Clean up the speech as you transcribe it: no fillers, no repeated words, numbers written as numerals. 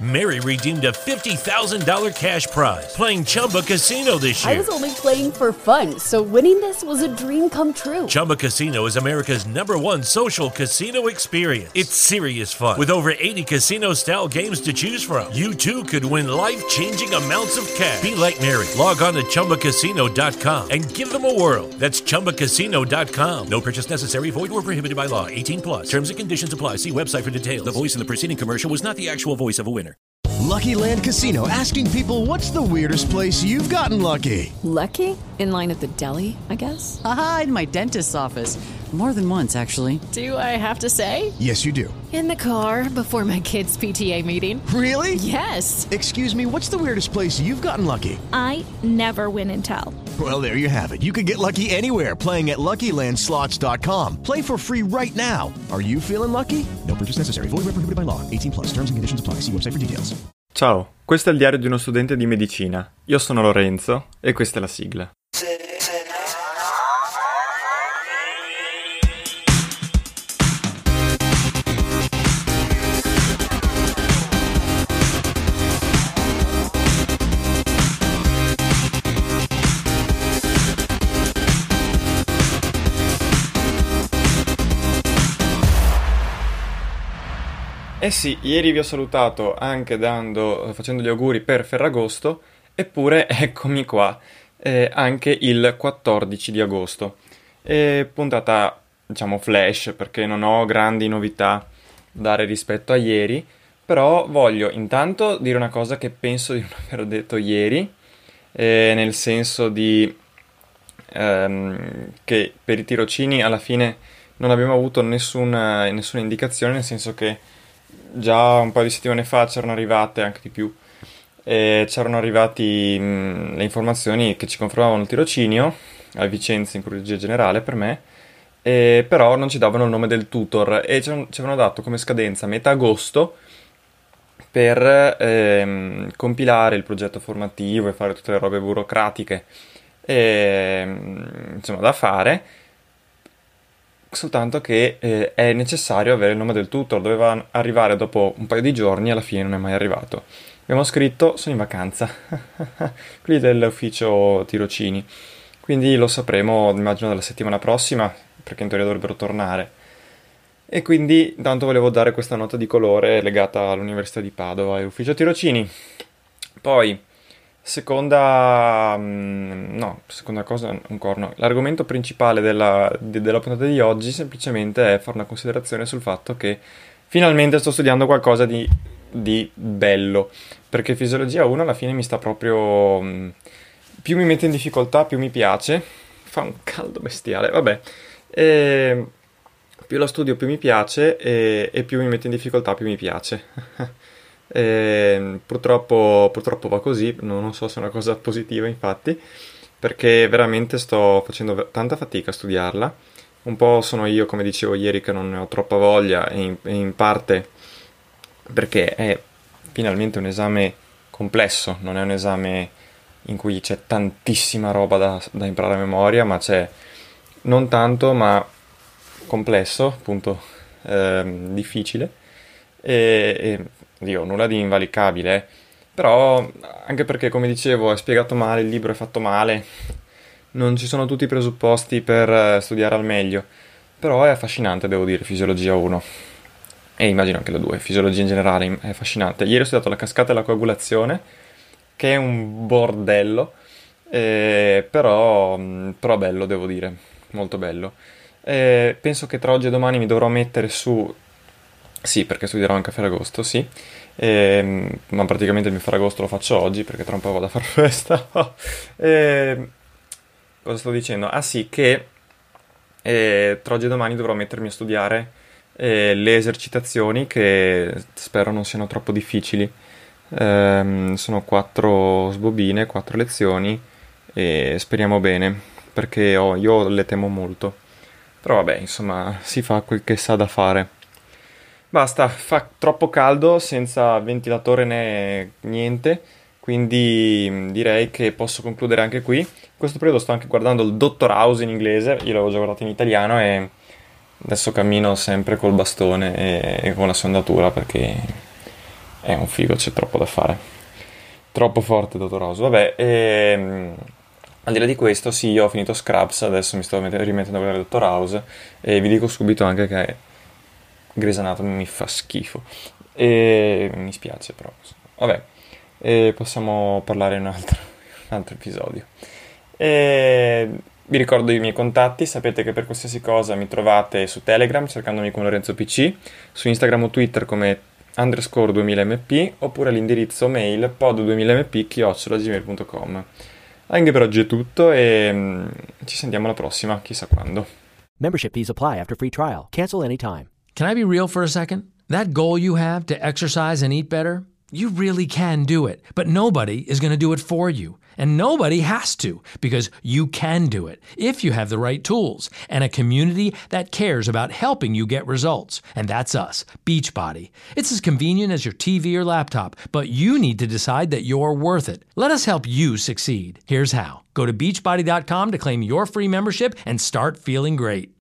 Mary redeemed a $50,000 cash prize playing Chumba Casino this year. I was only playing for fun, so winning this was a dream come true. Chumba Casino is America's #1 social casino experience. It's serious fun. With over 80 casino-style games to choose from, you too could win life-changing amounts of cash. Be like Mary. Log on to ChumbaCasino.com and give them a whirl. That's ChumbaCasino.com. No purchase necessary. Void where prohibited by law. 18 plus. Terms and conditions apply. See website for details. The voice in the preceding commercial was not the actual voice of a winner. Lucky Land Casino, asking people, what's the weirdest place you've gotten lucky? Lucky? In line at the deli, I guess? Aha, in my dentist's office. More than once, actually. Do I have to say? Yes, you do. In the car before my kids' PTA meeting. Really? Yes. Excuse me, what's the weirdest place you've gotten lucky? I never win and tell. Well, there you have it. You can get lucky anywhere, playing at LuckyLandSlots.com. Play for free right now. Are you feeling lucky? No purchase necessary. Void where prohibited by law. 18 plus. Terms and conditions apply. See website for details. Ciao, questo è il diario di uno studente di medicina. Io sono Lorenzo e questa è la sigla. Eh sì, ieri vi ho salutato anche facendo gli auguri per Ferragosto, eppure eccomi qua, anche il 14 di agosto. Puntata, diciamo, flash, perché non ho grandi novità da dare rispetto a ieri, però voglio intanto dire una cosa che penso di non aver detto ieri, nel senso di che per i tirocini alla fine non abbiamo avuto nessuna indicazione, nel senso che già un paio di settimane fa c'erano arrivate, anche di più, c'erano arrivati le informazioni che ci confermavano il tirocinio a Vicenza in chirurgia generale per me, però non ci davano il nome del tutor e ci avevano dato come scadenza metà agosto per compilare il progetto formativo e fare tutte le robe burocratiche insomma da fare. Soltanto che è necessario avere il nome del tutor, doveva arrivare dopo un paio di giorni, alla fine non è mai arrivato. Abbiamo scritto, sono in vacanza, quelli dell'ufficio tirocini, quindi lo sapremo immagino dalla settimana prossima, perché in teoria dovrebbero tornare. E quindi intanto volevo dare questa nota di colore legata all'Università di Padova e all'ufficio tirocini. Poi seconda cosa ancora no. L'argomento principale della puntata di oggi semplicemente è fare una considerazione sul fatto che finalmente sto studiando qualcosa di bello, perché Fisiologia 1 alla fine mi sta proprio più mi mette in difficoltà più mi piace, fa un caldo bestiale, vabbè, più la studio più mi piace e più mi mette in difficoltà più mi piace. Purtroppo va così, non so se è una cosa positiva infatti, perché veramente sto facendo tanta fatica a studiarla. Un po' sono io, come dicevo ieri, che non ne ho troppa voglia e in parte perché è finalmente un esame complesso, non è un esame in cui c'è tantissima roba da imparare a memoria, ma c'è non tanto ma complesso, appunto, difficile e Dio, nulla di invalicabile, però anche perché, come dicevo, è spiegato male, il libro è fatto male, non ci sono tutti i presupposti per studiare al meglio, però è affascinante, devo dire, Fisiologia 1, e immagino anche la 2, Fisiologia in generale è affascinante. Ieri ho studiato la cascata e la coagulazione, che è un bordello, però bello, devo dire, molto bello. Penso che tra oggi e domani mi dovrò mettere su... Sì, perché studierò anche a Ferragosto, sì. Ma praticamente il mio Ferragosto lo faccio oggi, perché tra un po' vado a far festa. Cosa sto dicendo? Ah sì, che tra oggi e domani dovrò mettermi a studiare le esercitazioni, che spero non siano troppo difficili. Sono 4 sbobine, 4 lezioni, e speriamo bene, perché io le temo molto. Però vabbè, insomma, si fa quel che sa da fare. Basta, fa troppo caldo, senza ventilatore né niente, quindi direi che posso concludere anche qui. In questo periodo sto anche guardando il Dottor House in inglese, io l'avevo già guardato in italiano e adesso cammino sempre col bastone e con la sondatura, perché è un figo, c'è troppo da fare. Troppo forte Dottor House. Vabbè, al di là di questo, sì, io ho finito Scrubs, adesso mi sto rimettendo a guardare Dottor House, e vi dico subito anche che Grey's Anatomy mi fa schifo. E mi spiace, però. Vabbè, possiamo parlare in un altro episodio. Vi ricordo i miei contatti, sapete che per qualsiasi cosa mi trovate su Telegram cercandomi come Lorenzo PC, su Instagram o Twitter come _2000mp, oppure all'indirizzo mail pod2000mp@gmail.com. Anche per oggi è tutto e ci sentiamo alla prossima, chissà quando. Membership fees apply after free trial. Cancel anytime. Can I be real for a second? That goal you have to exercise and eat better, you really can do it, but nobody is going to do it for you. And nobody has to, because you can do it if you have the right tools and a community that cares about helping you get results. And that's us, Beachbody. It's as convenient as your TV or laptop, but you need to decide that you're worth it. Let us help you succeed. Here's how. Go to beachbody.com to claim your free membership and start feeling great.